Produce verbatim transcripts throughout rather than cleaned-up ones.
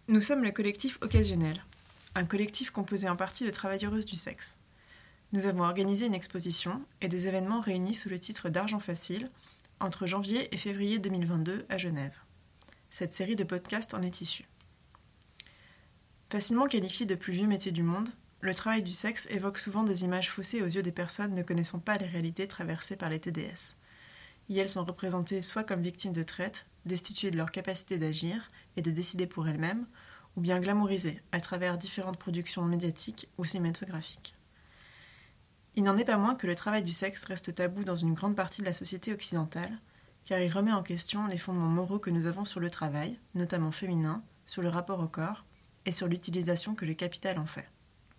Nous sommes le collectif Occasionnel, un collectif composé en partie de travailleuses du sexe. Nous avons organisé une exposition et des événements réunis sous le titre d'Argent Facile entre janvier et février deux mille vingt-deux à Genève. Cette série de podcasts en est issue. Facilement qualifié de plus vieux métier du monde, le travail du sexe évoque souvent des images faussées aux yeux des personnes ne connaissant pas les réalités traversées par les T D S. Y elles sont représentées soit comme victimes de traite, destituées de leur capacité d'agir et de décider pour elles-mêmes, ou bien glamourisées à travers différentes productions médiatiques ou cinématographiques. Il n'en est pas moins que le travail du sexe reste tabou dans une grande partie de la société occidentale, car il remet en question les fondements moraux que nous avons sur le travail, notamment féminin, sur le rapport au corps et sur l'utilisation que le capital en fait.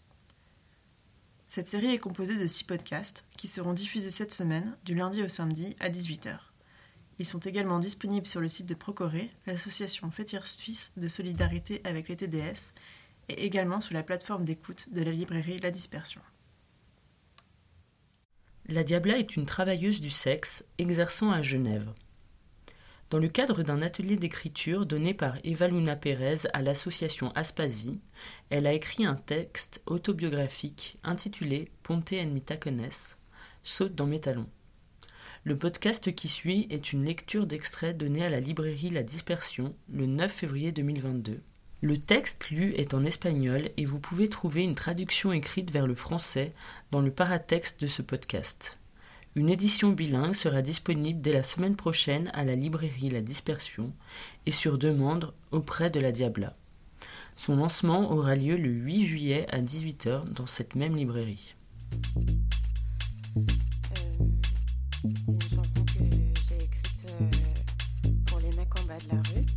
Cette série est composée de six podcasts qui seront diffusés cette semaine, du lundi au samedi à dix-huit heures. Ils sont également disponibles sur le site de Procoré, l'association Fétiche Suisse de solidarité avec les T D S, et également sur la plateforme d'écoute de la librairie La Dispersion. La Diabla est une travailleuse du sexe exerçant à Genève. Dans le cadre d'un atelier d'écriture donné par Eva Luna Pérez à l'association Aspasie, elle a écrit un texte autobiographique intitulé Ponte en mi tacones, saute dans mes talons. Le podcast qui suit est une lecture d'extrait donné à la librairie La Dispersion le neuf février deux mille vingt-deux. Le texte lu est en espagnol et vous pouvez trouver une traduction écrite vers le français dans le paratexte de ce podcast. Une édition bilingue sera disponible dès la semaine prochaine à la librairie La Dispersion et sur demande auprès de la Diabla. Son lancement aura lieu le huit juillet à dix-huit heures dans cette même librairie. Euh, c'est une chanson que j'ai écrite euh, pour les mecs en bas de la rue.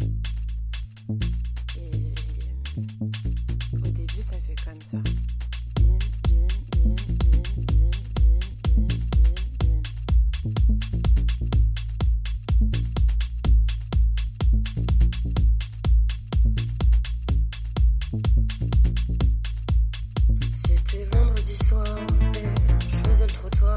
Et euh, au début, ça fait comme ça. Bim, bim, bim, bim, bim, bim, bim, bim, bim. C'était vendredi soir et je faisais le trottoir.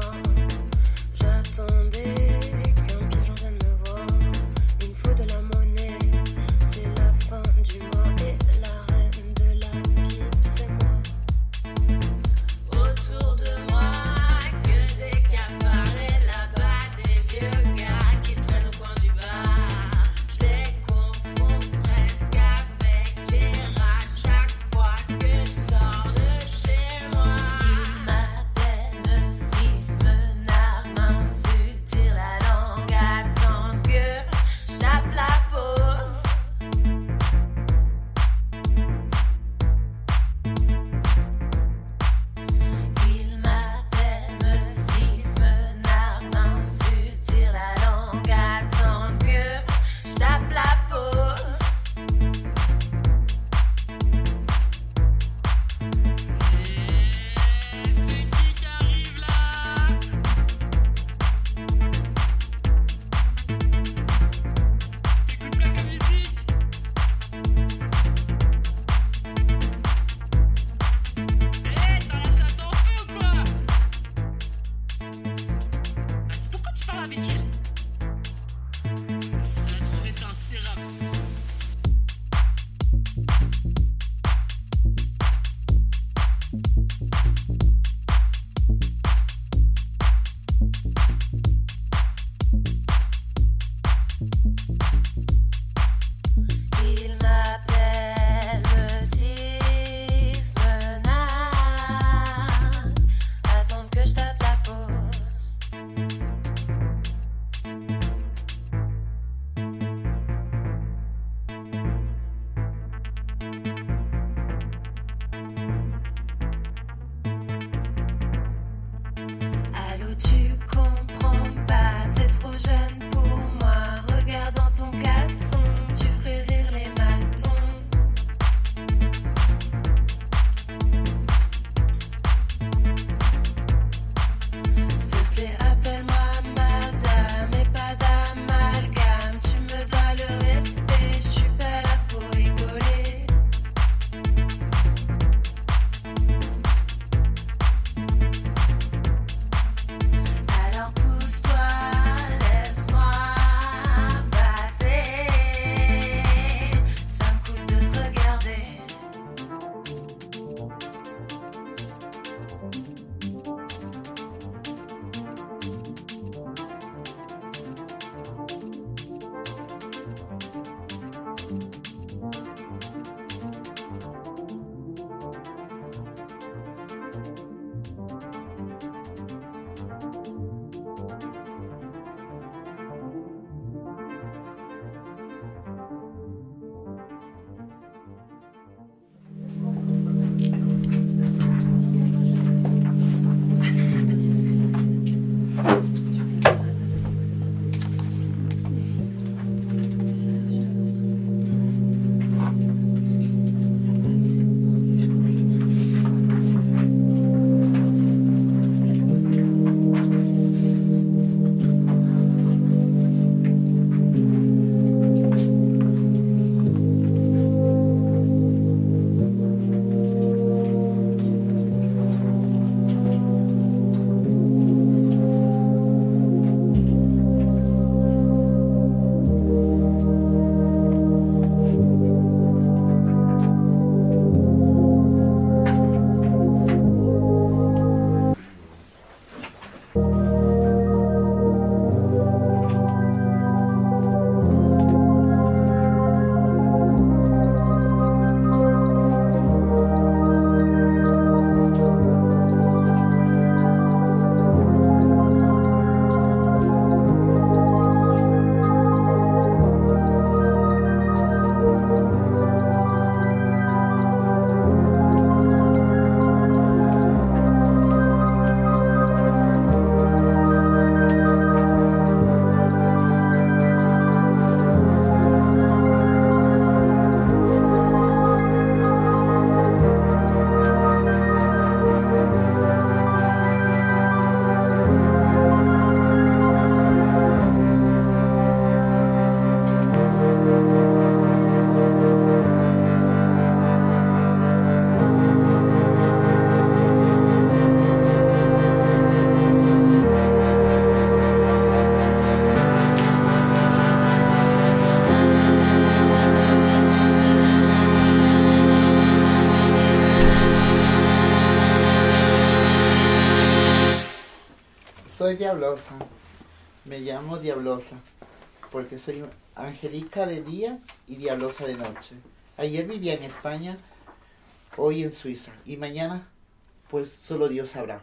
Soy Diablosa. Me llamo Diablosa porque soy angélica de día y diablosa de noche. Ayer vivía en España, hoy en Suiza y mañana pues solo Dios sabrá.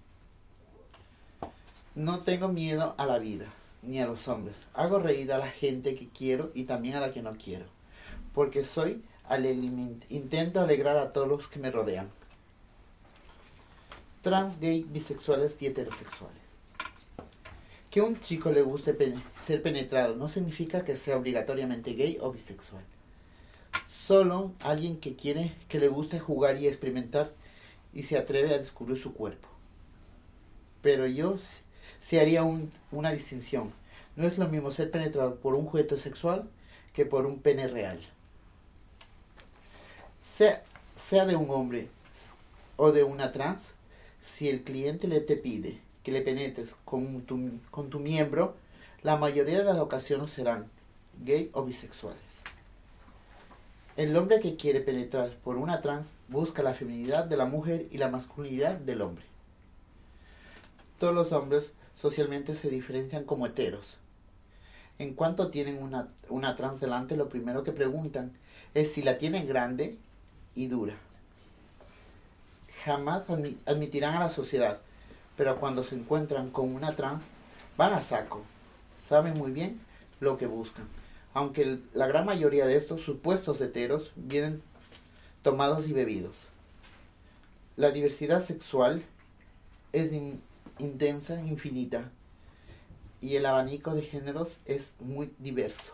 No tengo miedo a la vida ni a los hombres. Hago reír a la gente que quiero y también a la que no quiero. Porque soy alegre, intento alegrar a todos los que me rodean. Trans, gay, bisexuales y heterosexuales. Que un chico le guste pen- ser penetrado no significa que sea obligatoriamente gay o bisexual. Solo alguien que quiere, que le guste jugar y experimentar y se atreve a descubrir su cuerpo. Pero yo sí haría un, una distinción. No es lo mismo ser penetrado por un juguete sexual que por un pene real. Sea, sea de un hombre o de una trans, si el cliente le te pide que le penetres con tu, con tu miembro, la mayoría de las ocasiones serán gay o bisexuales. El hombre que quiere penetrar por una trans busca la feminidad de la mujer y la masculinidad del hombre. Todos los hombres socialmente se diferencian como heteros. En cuanto tienen una, una trans delante, lo primero que preguntan es si la tienen grande y dura. Jamás admi- admitirán a la sociedad, pero cuando se encuentran con una trans, van a saco. Saben muy bien lo que buscan. Aunque el, la gran mayoría de estos supuestos heteros vienen tomados y bebidos. La diversidad sexual es in, intensa, infinita, y el abanico de géneros es muy diverso.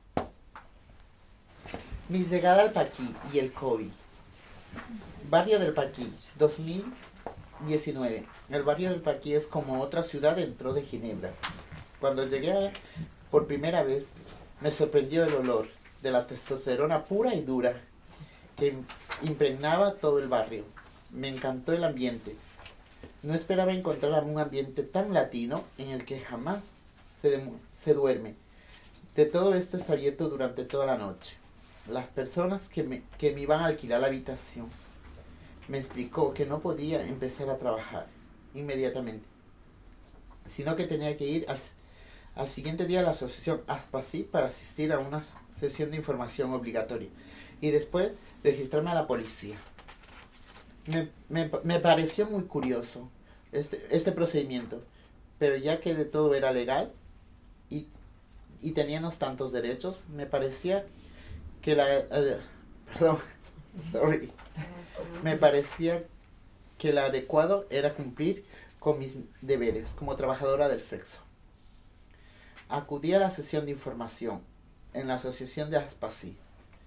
Mi llegada al Paquí y el COVID. Barrio del Paquí, dos mil diecinueve. El barrio del Paquí es como otra ciudad dentro de Ginebra. Cuando llegué por primera vez, me sorprendió el olor de la testosterona pura y dura que impregnaba todo el barrio. Me encantó el ambiente. No esperaba encontrar un ambiente tan latino en el que jamás se, de, se duerme. De todo esto está abierto durante toda la noche. Las personas que me, que me iban a alquilar la habitación me explicó que no podía empezar a trabajar inmediatamente, sino que tenía que ir al, al siguiente día a la asociación ASPACI para asistir a una sesión de información obligatoria y después registrarme a la policía. Me, me, me pareció muy curioso este, este procedimiento, pero ya que de todo era legal y, y teníamos tantos derechos, me parecía que la... Uh, perdón, sorry. Me parecía que lo adecuado era cumplir con mis deberes como trabajadora del sexo. Acudí a la sesión de información en la asociación de ASPACI.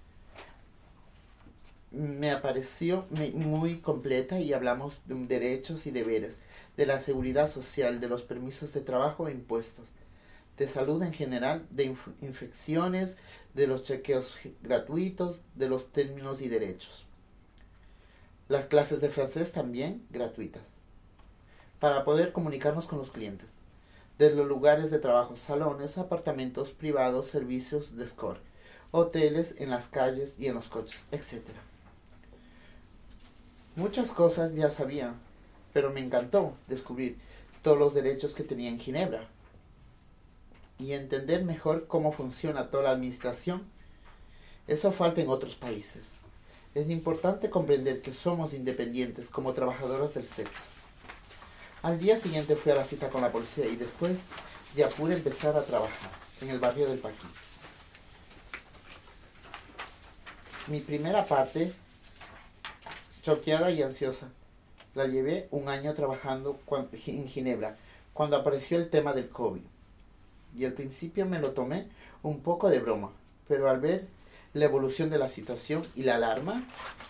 Me pareció muy completa y hablamos de derechos y deberes, de la seguridad social, de los permisos de trabajo e impuestos, de salud en general, de inf- infecciones, de los chequeos gratuitos, de los términos y derechos. Las clases de francés también gratuitas, para poder comunicarnos con los clientes, de los lugares de trabajo, salones, apartamentos privados, servicios de escort, hoteles en las calles y en los coches, etcétera. Muchas cosas ya sabía, pero me encantó descubrir todos los derechos que tenía en Ginebra y entender mejor cómo funciona toda la administración. Eso falta en otros países. Es importante comprender que somos independientes como trabajadoras del sexo. Al día siguiente fui a la cita con la policía y después ya pude empezar a trabajar en el barrio del Paquí. Mi primera parte, choqueada y ansiosa, la llevé un año trabajando en Ginebra cuando apareció el tema del COVID. Y al principio me lo tomé un poco de broma, pero al ver la evolución de la situación y la alarma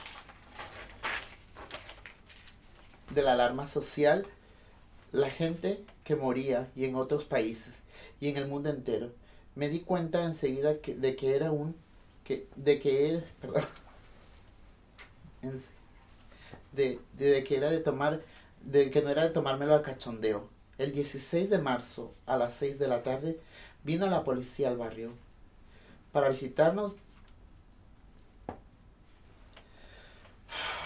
de la alarma social, la gente que moría y en otros países y en el mundo entero, me di cuenta enseguida que, de que era un que de que era perdón, de, de, de que era de tomar de que no era de tomármelo al cachondeo. El dieciséis de marzo a las seis de la tarde vino la policía al barrio para visitarnos.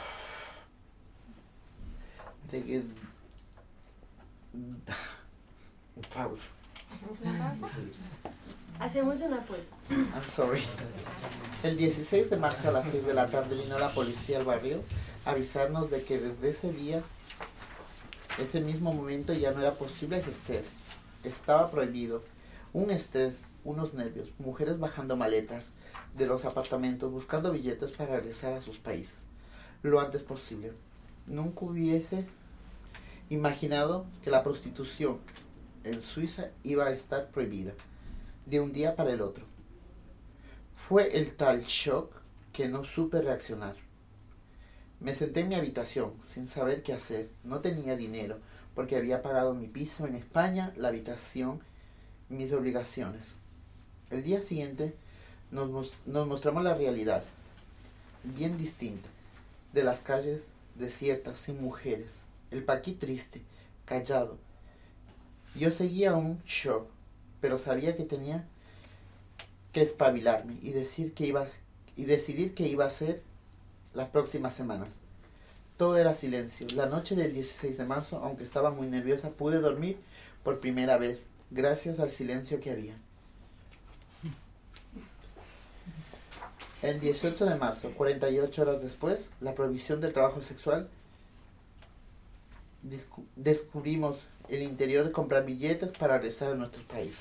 De que pausa. ¿Una pausa? Sí. Hacemos una pausa. I'm sorry. El dieciséis de marzo a las seis de la tarde vino la policía al barrio a avisarnos de que desde ese día, ese mismo momento ya no era posible ejercer. Estaba prohibido. Un estrés, unos nervios, mujeres bajando maletas de los apartamentos buscando billetes para regresar a sus países lo antes posible. Nunca hubiese imaginado que la prostitución en Suiza iba a estar prohibida de un día para el otro. Fue el tal shock que no supe reaccionar. Me senté en mi habitación sin saber qué hacer. No tenía dinero porque había pagado mi piso en España, la habitación, mis obligaciones. El día siguiente nos, nos mostramos la realidad, bien distinta, de las calles desiertas, sin mujeres. El paquí triste, callado. Yo seguía un shock, pero sabía que tenía que espabilarme y decir que iba y decidir qué iba a hacer las próximas semanas. Todo era silencio. La noche del dieciséis de marzo, aunque estaba muy nerviosa, pude dormir por primera vez, gracias al silencio que había. El dieciocho de marzo, cuarenta y ocho horas después, la prohibición del trabajo sexual, descubrimos el interior de comprar billetes para regresar a nuestros países.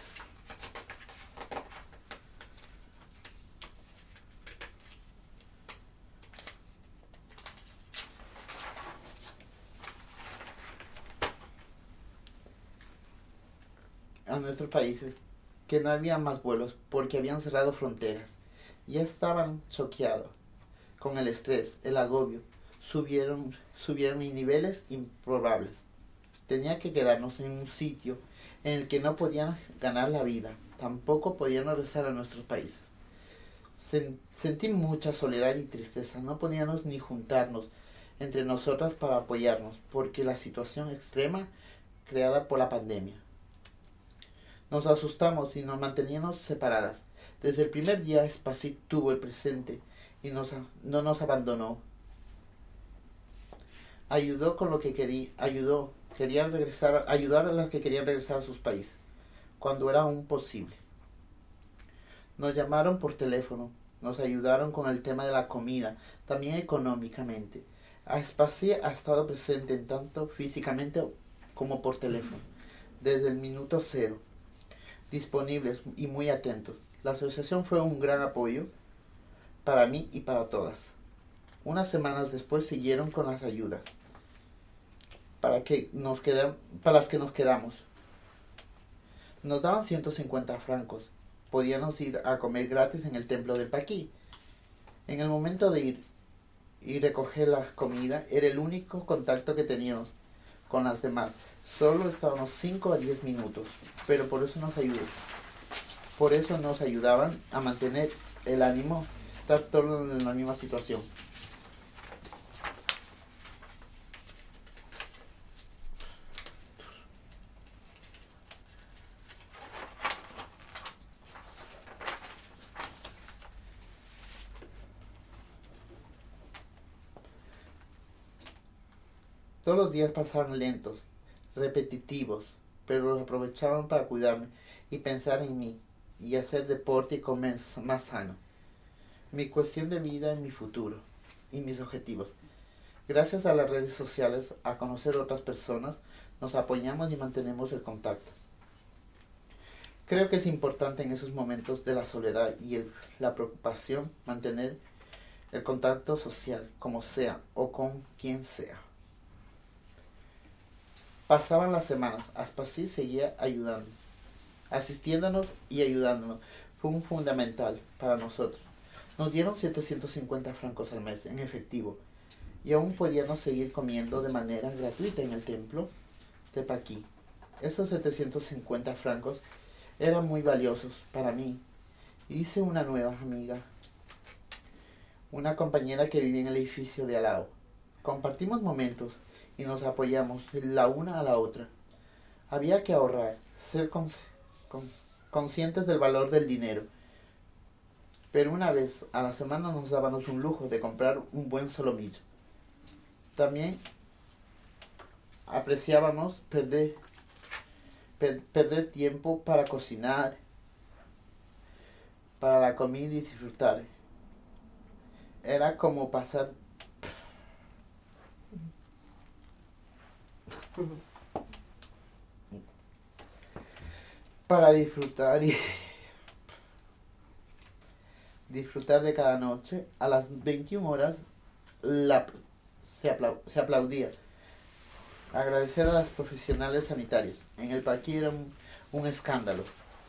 A nuestros países, que no había más vuelos porque habían cerrado fronteras. Ya estaban choqueados con el estrés, el agobio. Subieron, subieron a niveles improbables. Tenía que quedarnos en un sitio en el que no podían ganar la vida. Tampoco podían regresar a nuestros países. Sen, sentí mucha soledad y tristeza. No podíamos ni juntarnos entre nosotras para apoyarnos, porque la situación extrema creada por la pandemia. Nos asustamos y nos manteníamos separadas. Desde el primer día Spassí tuvo el presente y nos, no nos abandonó. Ayudó con lo que quería, ayudó, querían regresar, ayudar a las que querían regresar a sus países, cuando era aún posible. Nos llamaron por teléfono, nos ayudaron con el tema de la comida, también económicamente. Spassí ha estado presente en tanto físicamente como por teléfono, desde el minuto cero, disponibles y muy atentos. La asociación fue un gran apoyo para mí y para todas. Unas semanas después siguieron con las ayudas para, que nos quedan, para las que nos quedamos. Nos daban ciento cincuenta francos. Podíamos ir a comer gratis en el templo del Paquí. En el momento de ir y recoger la comida era el único contacto que teníamos con las demás. Solo estábamos cinco a diez minutos, pero por eso nos ayudó. Por eso nos ayudaban a mantener el ánimo, estar todos en la misma situación. Todos los días pasaban lentos, repetitivos, pero los aprovechaban para cuidarme y pensar en mí, y hacer deporte y comer más sano. Mi cuestión de vida, mi futuro y mis objetivos. Gracias a las redes sociales, a conocer otras personas, nos apoyamos y mantenemos el contacto. Creo que es importante en esos momentos de la soledad y el, la preocupación mantener el contacto social, como sea o con quien sea. Pasaban las semanas, Spassí seguía ayudando, asistiéndonos y ayudándonos. Fue un fundamental para nosotros. Nos dieron setecientos cincuenta francos al mes en efectivo y aún podíamos seguir comiendo de manera gratuita en el templo de Paquí. Esos setecientos cincuenta francos eran muy valiosos para mí. Hice una nueva amiga, una compañera que vivía en el edificio de al lado. Compartimos momentos y nos apoyamos la una a la otra. Había que ahorrar, ser cons cons conscientes del valor del dinero. Pero una vez a la semana nos dábamos un lujo de comprar un buen solomillo. También apreciábamos perder, per- perder tiempo para cocinar, para la comida y disfrutar. Era como pasar para disfrutar y disfrutar de cada noche. A las veintiuna horas la, se, apla, se aplaudía. Agradecer a los profesionales sanitarios. En el parque era un, un escándalo.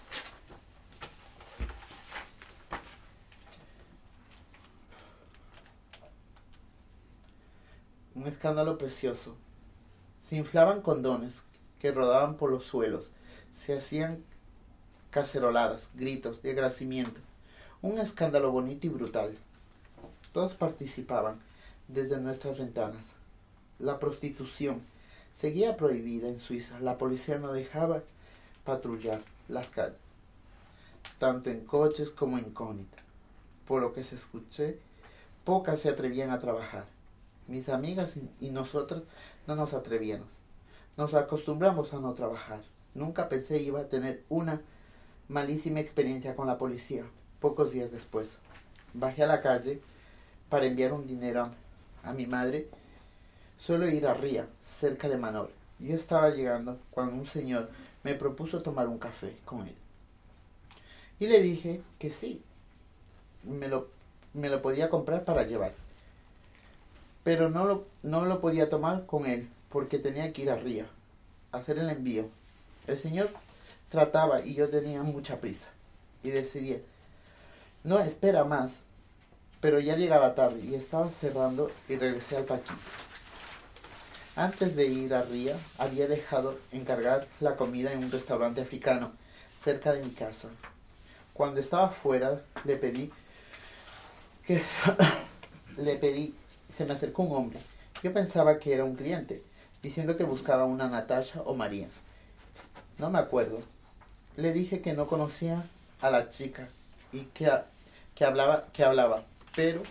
Un escándalo precioso. Se inflaban condones que rodaban por los suelos. Se hacían caceroladas, gritos de agradecimiento. Un escándalo bonito y brutal. Todos participaban desde nuestras ventanas. La prostitución seguía prohibida en Suiza. La policía no dejaba patrullar las calles, tanto en coches como incógnita. Por lo que se escuché, pocas se atrevían a trabajar. Mis amigas y nosotros no nos atrevíamos. Nos acostumbramos a no trabajar. Nunca pensé iba a tener una malísima experiencia con la policía. Pocos días después, bajé a la calle para enviar un dinero a, a mi madre. Suelo ir a Ría, cerca de Manor. Yo estaba llegando cuando un señor me propuso tomar un café con él. Y le dije que sí, me lo, me lo podía comprar para llevar. Pero no lo, no lo podía tomar con él porque tenía que ir a Ría a hacer el envío. El señor trataba y yo tenía mucha prisa. Y decidí, no, espera más. Pero ya llegaba tarde y estaba cerrando y regresé al paquete. Antes de ir a Ría, había dejado encargar la comida en un restaurante africano cerca de mi casa. Cuando estaba fuera, le pedí que le pedí, se me acercó un hombre. Yo pensaba que era un cliente, diciendo que buscaba una Natasha o María. No me acuerdo. Le dije que no conocía a la chica y que, que hablaba, que hablaba, pero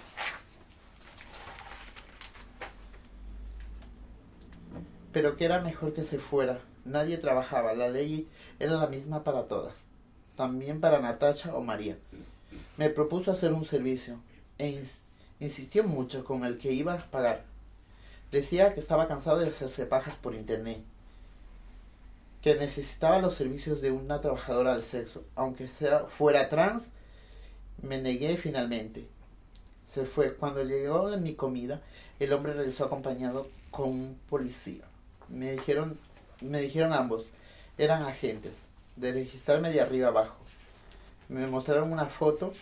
pero que era mejor que se fuera. Nadie trabajaba, la ley era la misma para todas, también para Natasha o María. Me propuso hacer un servicio e ins- insistió mucho con el que iba a pagar. Decía que estaba cansado de hacerse pajas por internet, que necesitaba los servicios de una trabajadora del sexo, aunque sea fuera trans. Me negué finalmente. Se fue. Cuando llegó mi comida, el hombre regresó acompañado con un policía. Me dijeron, me dijeron ambos, eran agentes, de registrarme de arriba abajo. Me mostraron una foto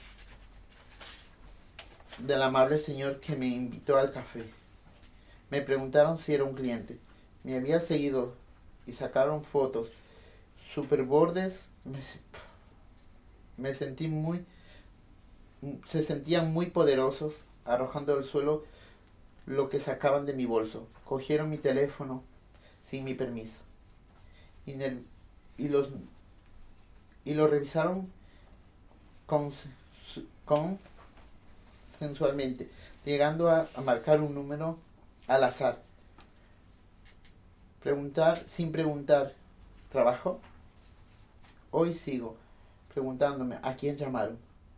del amable señor que me invitó al café. Me preguntaron si era un cliente. Me había seguido y sacaron fotos super bordes. Me, me sentí muy, se sentían muy poderosos, arrojando al suelo lo que sacaban de mi bolso. Cogieron mi teléfono sin mi permiso y, el, y los y lo revisaron con, con sensualmente, llegando a, a marcar un número al azar. Preguntar sin preguntar, ¿trabajó? Hoy sigo preguntándome a quién llamaron.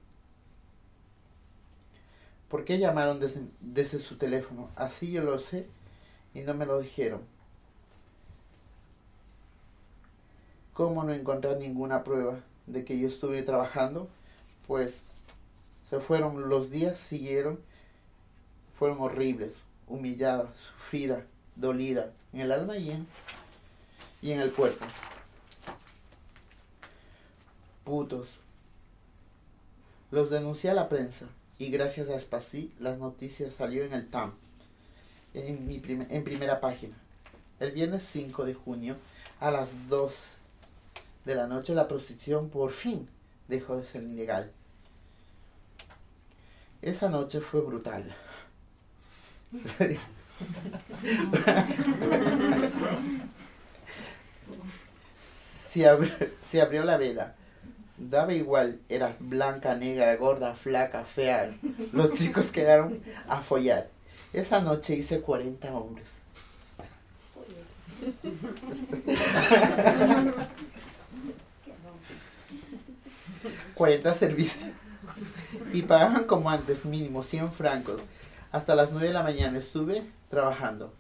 ¿Por qué llamaron desde, desde su teléfono? Así yo lo sé y no me lo dijeron. ¿Cómo no encontrar ninguna prueba de que yo estuve trabajando? Pues se fueron, los días siguieron, fueron horribles, humillada, sufrida, dolida, en el alma y en, y en el cuerpo. Putos. Los denuncié a la prensa y gracias a Spassy las noticias salió en el T A M, en, mi prim- en primera página. El viernes cinco de junio a las dos de la noche la prostitución por fin dejó de ser ilegal. Esa noche fue brutal. se, abrió, se abrió la veda. Daba igual, era blanca, negra, gorda, flaca, fea. Los chicos quedaron a follar. Esa noche hice cuarenta hombres. cuarenta servicios. Y pagaban como antes, mínimo cien francos. Hasta las nueve de la mañana estuve trabajando.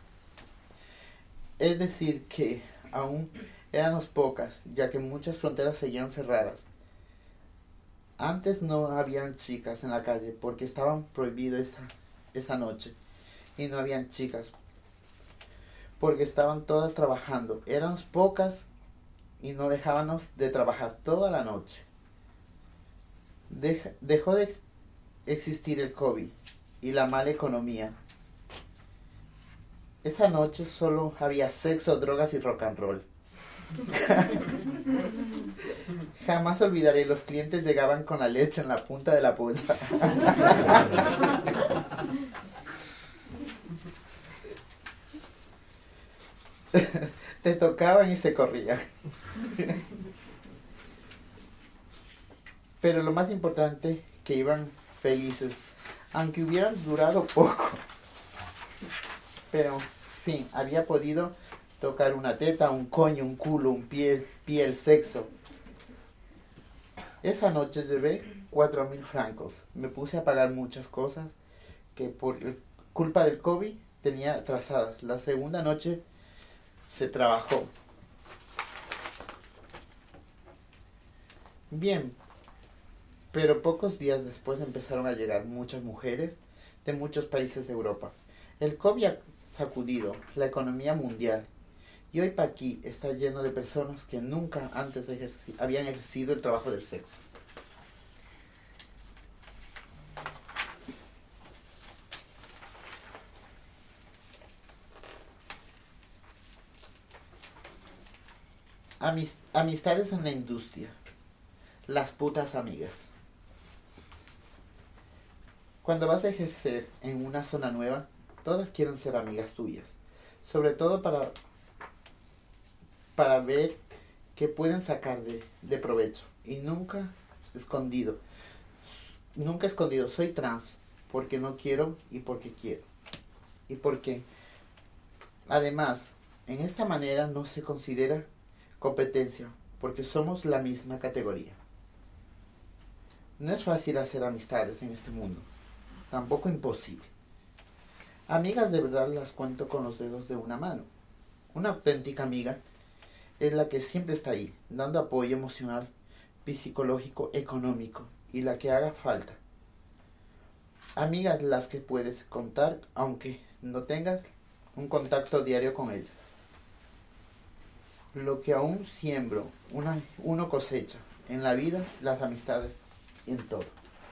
Es decir que aún éramos pocas, ya que muchas fronteras seguían cerradas. Antes no habían chicas en la calle porque estaban prohibidas esa, esa noche. Y no habían chicas porque estaban todas trabajando. Éramos pocas y no dejábamos de trabajar toda la noche. Deja, dejó de ex- existir el COVID y la mala economía. Esa noche solo había sexo, drogas y rock and roll. Jamás olvidaré, los clientes llegaban con la leche en la punta de la polla. Te tocaban y se corrían. Pero lo más importante, que iban felices, aunque hubieran durado poco. Pero, en fin, había podido tocar una teta, un coño, un culo, un pie, piel, sexo. Esa noche llevé cuatro mil francos. Me puse a pagar muchas cosas que por culpa del COVID tenía atrasadas. La segunda noche se trabajó. Bien, pero pocos días después empezaron a llegar muchas mujeres de muchos países de Europa. El COVID ha sacudido la economía mundial y hoy Paquí está lleno de personas que nunca antes ejerci- habían ejercido el trabajo del sexo. Amis- amistades en la industria. Las putas amigas. Cuando vas a ejercer en una zona nueva, todas quieren ser amigas tuyas. Sobre todo para, para ver qué pueden sacar de, de provecho. Y nunca escondido. Nunca escondido. Soy trans porque no quiero y porque quiero. Y porque, además, en esta manera no se considera competencia, porque somos la misma categoría. No es fácil hacer amistades en este mundo, tampoco imposible. Amigas de verdad las cuento con los dedos de una mano. Una auténtica amiga es la que siempre está ahí, dando apoyo emocional, psicológico, económico y la que haga falta. Amigas las que puedes contar aunque no tengas un contacto diario con ellas. Lo que aún siembro, una, uno cosecha en la vida, las amistades, en todo.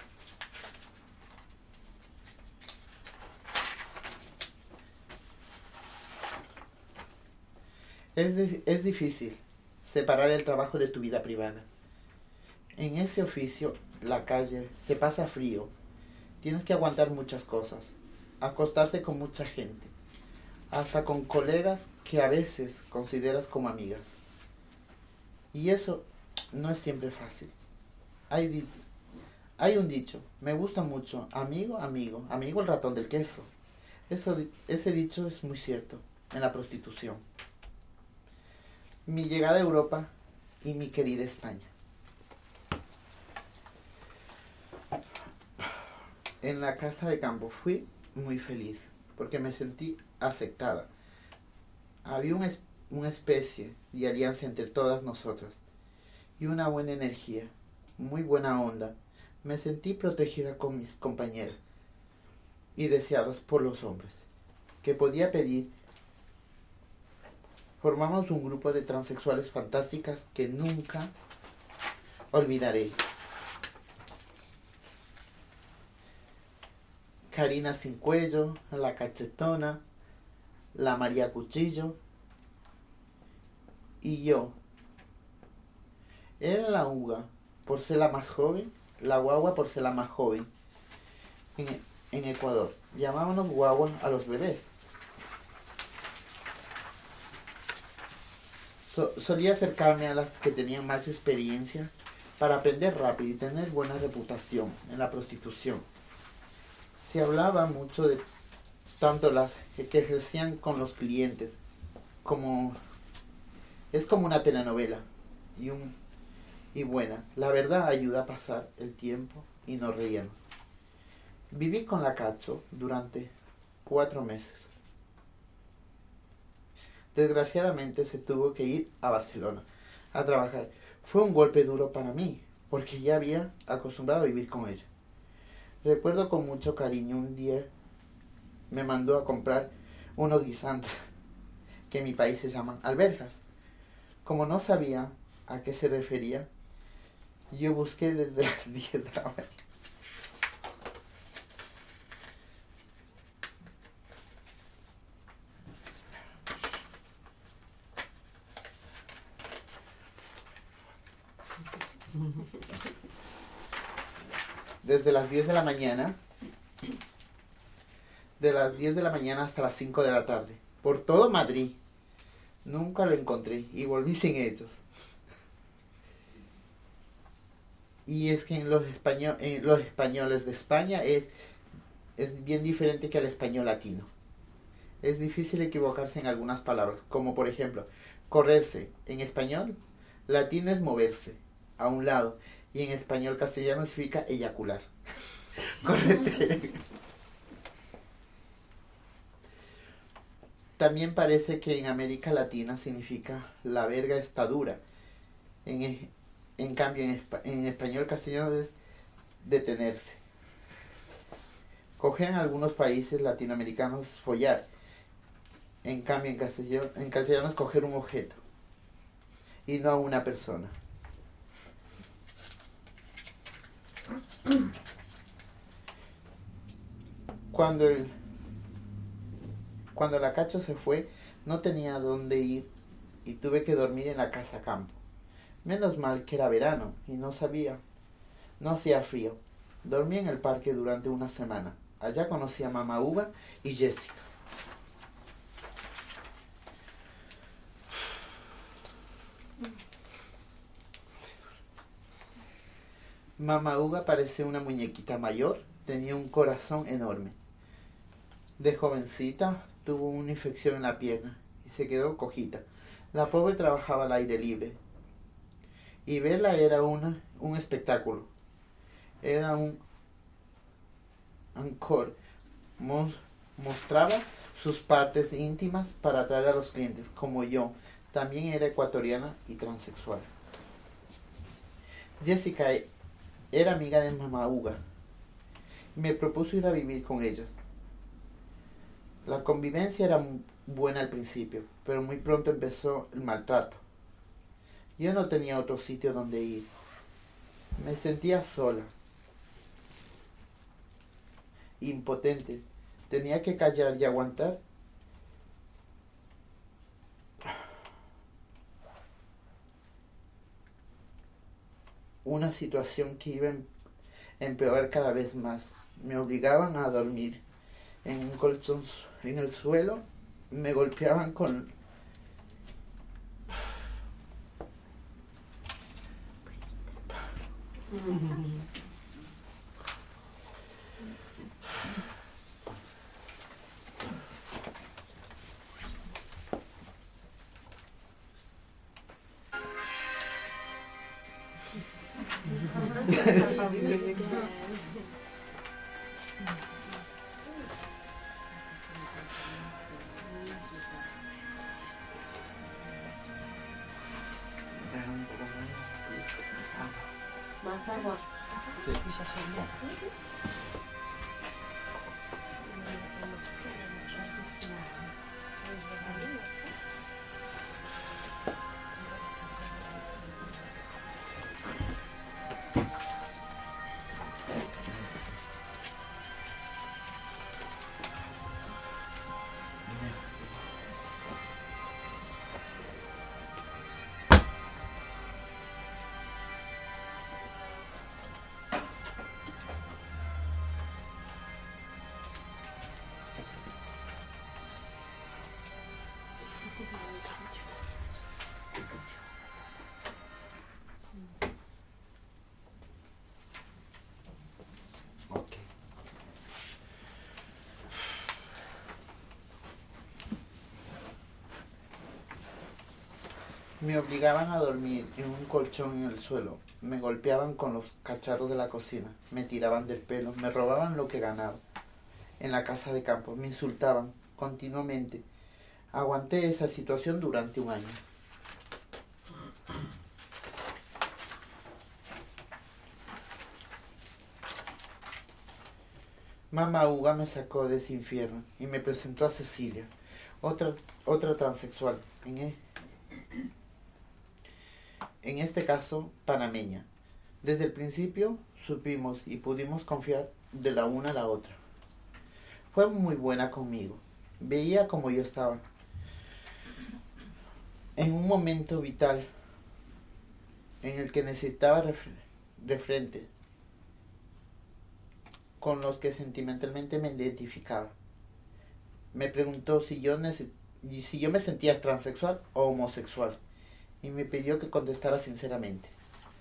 Es, de, es difícil separar el trabajo de tu vida privada. En ese oficio, la calle, se pasa frío. Tienes que aguantar muchas cosas. Acostarte con mucha gente. Hasta con colegas que a veces consideras como amigas. Y eso no es siempre fácil. Hay, di- hay un dicho, me gusta mucho, amigo, amigo, amigo el ratón del queso. Eso, di- ese dicho es muy cierto en la prostitución. Mi llegada a Europa y mi querida España. En la casa de campo fui muy feliz porque me sentí aceptada. Había un es- una especie de alianza entre todas nosotras y una buena energía, muy buena onda. Me sentí protegida con mis compañeras y deseadas por los hombres, que podía pedir. Formamos un grupo de transexuales fantásticas que nunca olvidaré. Karina Sin Cuello, la Cachetona, la María Cuchillo y yo. Era la uva por ser la más joven, la guagua por ser la más joven en, en Ecuador. Llamábamos guagua a los bebés. So, solía acercarme a las que tenían más experiencia para aprender rápido y tener buena reputación en la prostitución. Se hablaba mucho de tanto las que ejercían con los clientes, como es como una telenovela y un y buena. La verdad ayuda a pasar el tiempo y nos reíamos. Viví con la Cacho durante cuatro meses. Desgraciadamente se tuvo que ir a Barcelona a trabajar. Fue un golpe duro para mí, porque ya había acostumbrado a vivir con ella. Recuerdo con mucho cariño un día me mandó a comprar unos guisantes que en mi país se llaman alberjas. Como no sabía a qué se refería, yo busqué desde las diez de la mañana. Desde las diez de la mañana, de las diez de la mañana hasta las cinco de la tarde, por todo Madrid. Nunca lo encontré y volví sin ellos. Y es que en los, español, en los españoles de España es, es bien diferente que al español latino. Es difícil equivocarse en algunas palabras, como por ejemplo, correrse. En español latino es moverse a un lado, y en español castellano significa eyacular. Correte. También parece que en América Latina significa la verga está dura. En, en cambio, en, en español castellano es detenerse. Coger en algunos países latinoamericanos es follar. En cambio, en castellano, en castellano es coger un objeto y no a una persona. Cuando el Cuando la Cacho se fue, no tenía a dónde ir y tuve que dormir en la casa campo. Menos mal que era verano y no sabía, no hacía frío. Dormí en el parque durante una semana. Allá conocí a Mamá Uva y Jessica. Mamá Uva parecía una muñequita mayor, tenía un corazón enorme. De jovencita tuvo una infección en la pierna y se quedó cojita. La pobre trabajaba al aire libre y verla era una, un espectáculo. Era un encore. Mostraba sus partes íntimas para atraer a los clientes, como yo. También era ecuatoriana y transexual. Jessica era amiga de Mamá Uva. Me propuso ir a vivir con ellas. La convivencia era buena al principio, pero muy pronto empezó el maltrato. Yo no tenía otro sitio donde ir. Me sentía sola, impotente. Tenía que callar y aguantar. Una situación que iba a empeorar cada vez más. Me obligaban a dormir en un colchón en el suelo, me golpeaban con Más agua. Sí. Me obligaban a dormir en un colchón en el suelo, me golpeaban con los cacharros de la cocina, me tiraban del pelo, me robaban lo que ganaba en la casa de campo, me insultaban continuamente. Aguanté esa situación durante un año. Mamá Uga me sacó de ese infierno y me presentó a Cecilia, otra, otra transexual, en, e, en este caso panameña. Desde el principio supimos y pudimos confiar de la una a la otra. Fue muy buena conmigo, veía como yo estaba. En un momento vital en el que necesitaba de frente, con los que sentimentalmente me identificaba. Me preguntó si yo, si yo me sentía transexual o homosexual y me pidió que contestara sinceramente.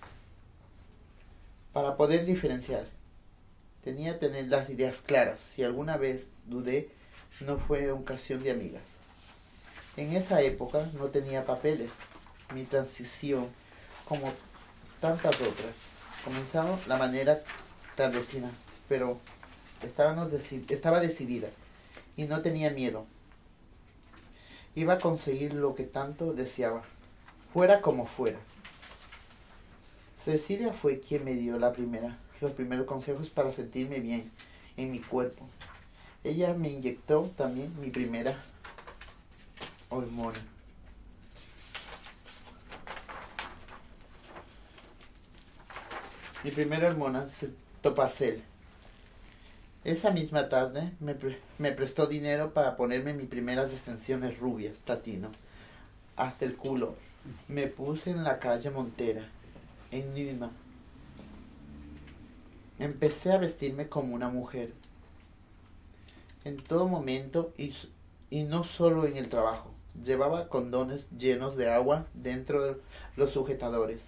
Para poder diferenciar, tenía que tener las ideas claras. Si alguna vez dudé, no fue ocasión de amigas. En esa época no tenía papeles. Mi transición, como tantas otras, comenzaba la manera clandestina, pero estábamos deci- estaba decidida y no tenía miedo. Iba a conseguir lo que tanto deseaba, fuera como fuera. Cecilia fue quien me dio la primera, los primeros consejos para sentirme bien en mi cuerpo. Ella me inyectó también mi primera hormona. Mi primera hormona, Topacel. Esa misma tarde me, pre- me prestó dinero para ponerme mis primeras extensiones rubias, platino, hasta el culo. Me puse en la calle Montera, en Lima. Empecé a vestirme como una mujer. En todo momento y, y no solo en el trabajo. Llevaba condones llenos de agua dentro de los sujetadores.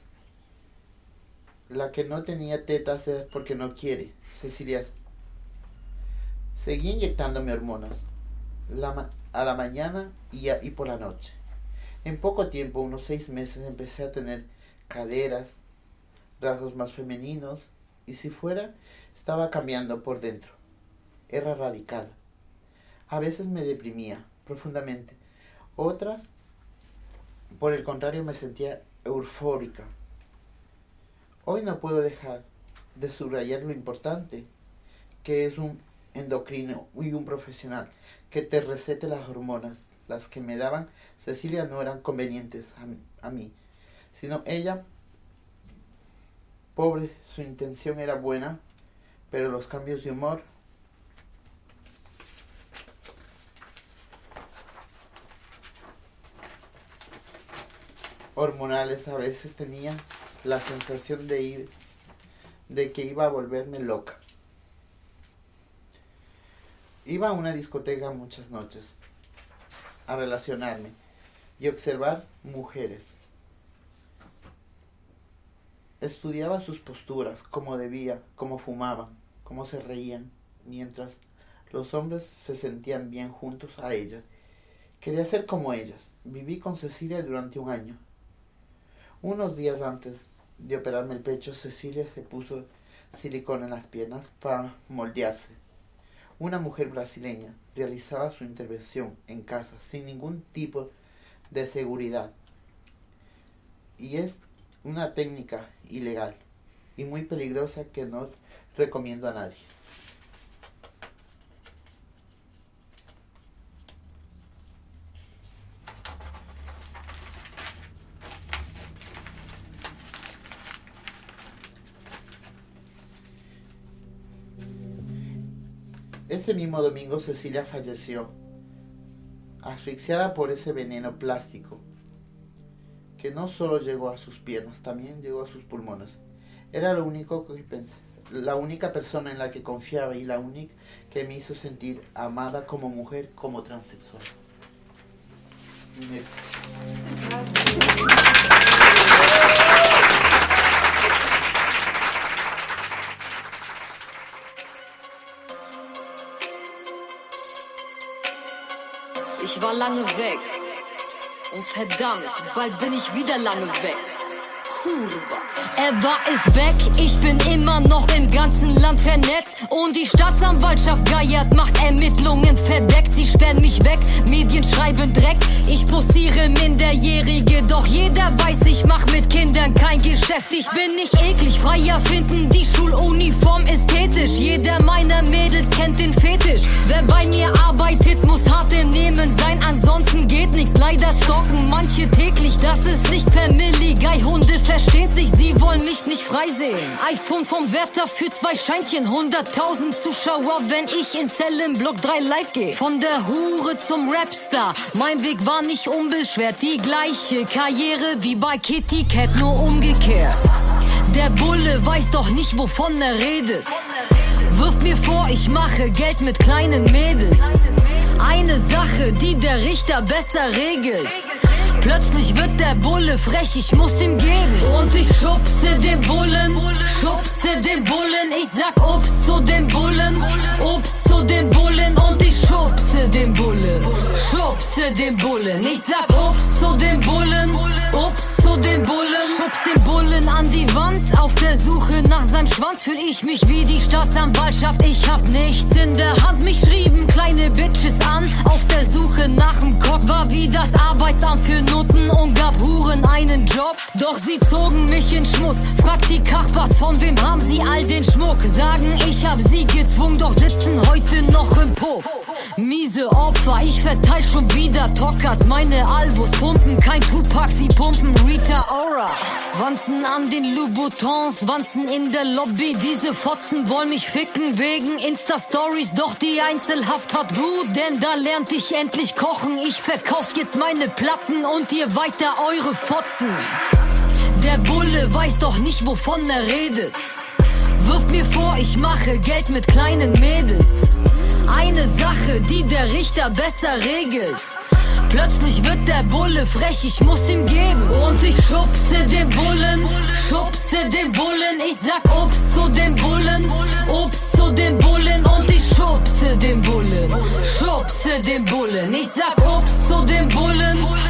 La que no tenía tetas es porque no quiere, Cecilia. Seguí inyectándome hormonas la, a la mañana y, a, y por la noche. En poco tiempo, unos seis meses, empecé a tener caderas, rasgos más femeninos y si fuera, estaba cambiando por dentro. Era radical. A veces me deprimía profundamente. Otras, por el contrario, me sentía eufórica. Hoy no puedo dejar de subrayar lo importante que es un endocrino y un profesional que te recete las hormonas. Las que me daban Cecilia no eran convenientes a mí, a mí, sino ella, pobre, su intención era buena, pero los cambios de humor hormonales a veces tenía la sensación de ir, de que iba a volverme loca. Iba a una discoteca muchas noches a relacionarme y observar mujeres. Estudiaba sus posturas, cómo debía, cómo fumaban, cómo se reían, mientras los hombres se sentían bien juntos a ellas. Quería ser como ellas. Viví con Cecilia durante un año. Unos días antes de operarme el pecho, Cecilia se puso silicona en las piernas para moldearse. Una mujer brasileña realizaba su intervención en casa sin ningún tipo de seguridad. Y es una técnica ilegal y muy peligrosa que no recomiendo a nadie. Ese mismo domingo Cecilia falleció, asfixiada por ese veneno plástico, que no solo llegó a sus piernas, también llegó a sus pulmones. Era lo único que pensé, la única persona en la que confiaba y la única que me hizo sentir amada como mujer, como transexual. Merci. Ich war lange weg, Und verdammt, bald bin ich wieder lange weg. Er war es weg, ich bin immer noch im ganzen Land vernetzt. Und die Staatsanwaltschaft geiert, macht Ermittlungen verdeckt. Sie sperren mich weg, Medien schreiben Dreck. Ich posiere Minderjährige, doch jeder weiß, ich mach mit Kindern kein Geschäft. Ich bin nicht eklig, freier finden, die Schuluniform ästhetisch. Jeder meiner Mädels kennt den Fetisch. Wer bei mir arbeitet, muss hart im Nehmen sein, ansonsten geht nichts. Leider stalken manche täglich, das ist nicht Family Guy. Hunde verstehen's nicht, sie wollen mich nicht freisehen. iPhone vom Wärter für zwei Scheinchen, hunderttausend Zuschauer, wenn ich in Zellenblock drei live gehe. Von der Hure zum Rapstar, mein Weg war nicht unbeschwert. Die gleiche Karriere wie bei Kitty Cat, nur umgekehrt. Der Bulle weiß doch nicht, wovon er redet. Wirft mir vor, ich mache Geld mit kleinen Mädels. Eine Sache, die der Richter besser regelt. Plötzlich wird der Bulle frech, ich muss ihm geben. Und ich schubse den Bullen, schubse den Bullen. Ich sag Ups zu den Bullen, Ups zu den Bullen. Und ich schubse den Bullen, schubse den Bullen. Ich sag Ups zu den Bullen, Ups zu den Bullen. Schubs den Bullen an die Wand, auf der Suche nach seinem Schwanz. Fühl ich mich wie die Staatsanwaltschaft, ich hab nichts in der Hand. Mich schrieben kleine Bitches an, auf der Suche nach dem Cock. War wie das Arbeitsamt für Noten und gab Huren einen Job. Doch sie zogen mich in Schmutz. Fragt die Kachbars, von wem haben sie all den Schmuck? Sagen, ich hab sie gezwungen, doch sitzen heute noch im Puff. Miese Opfer, ich verteil schon wieder Tockards. Meine Albus pumpen, kein Tupac, sie pumpen Rita Ora. Wanzen an den Louboutins, Wanzen in der Lobby. Diese Fotzen wollen mich ficken wegen Insta-Stories. Doch die Einzelhaft hat gut, denn da lernt ich endlich kochen. Ich verkauf jetzt meine Platten und ihr weiter eure Fotzen. Der Bulle weiß doch nicht, wovon er redet. Wirft mir vor, ich mache Geld mit kleinen Mädels. Eine Sache, die der Richter besser regelt. Plötzlich wird der Bulle frech, ich muss ihm geben. Und ich schubse den Bullen, schubse den Bullen. Ich sag Ups zu den Bullen, Ups zu den Bullen. Und ich schubse den Bullen, schubse den Bullen. Ich sag Ups zu den Bullen,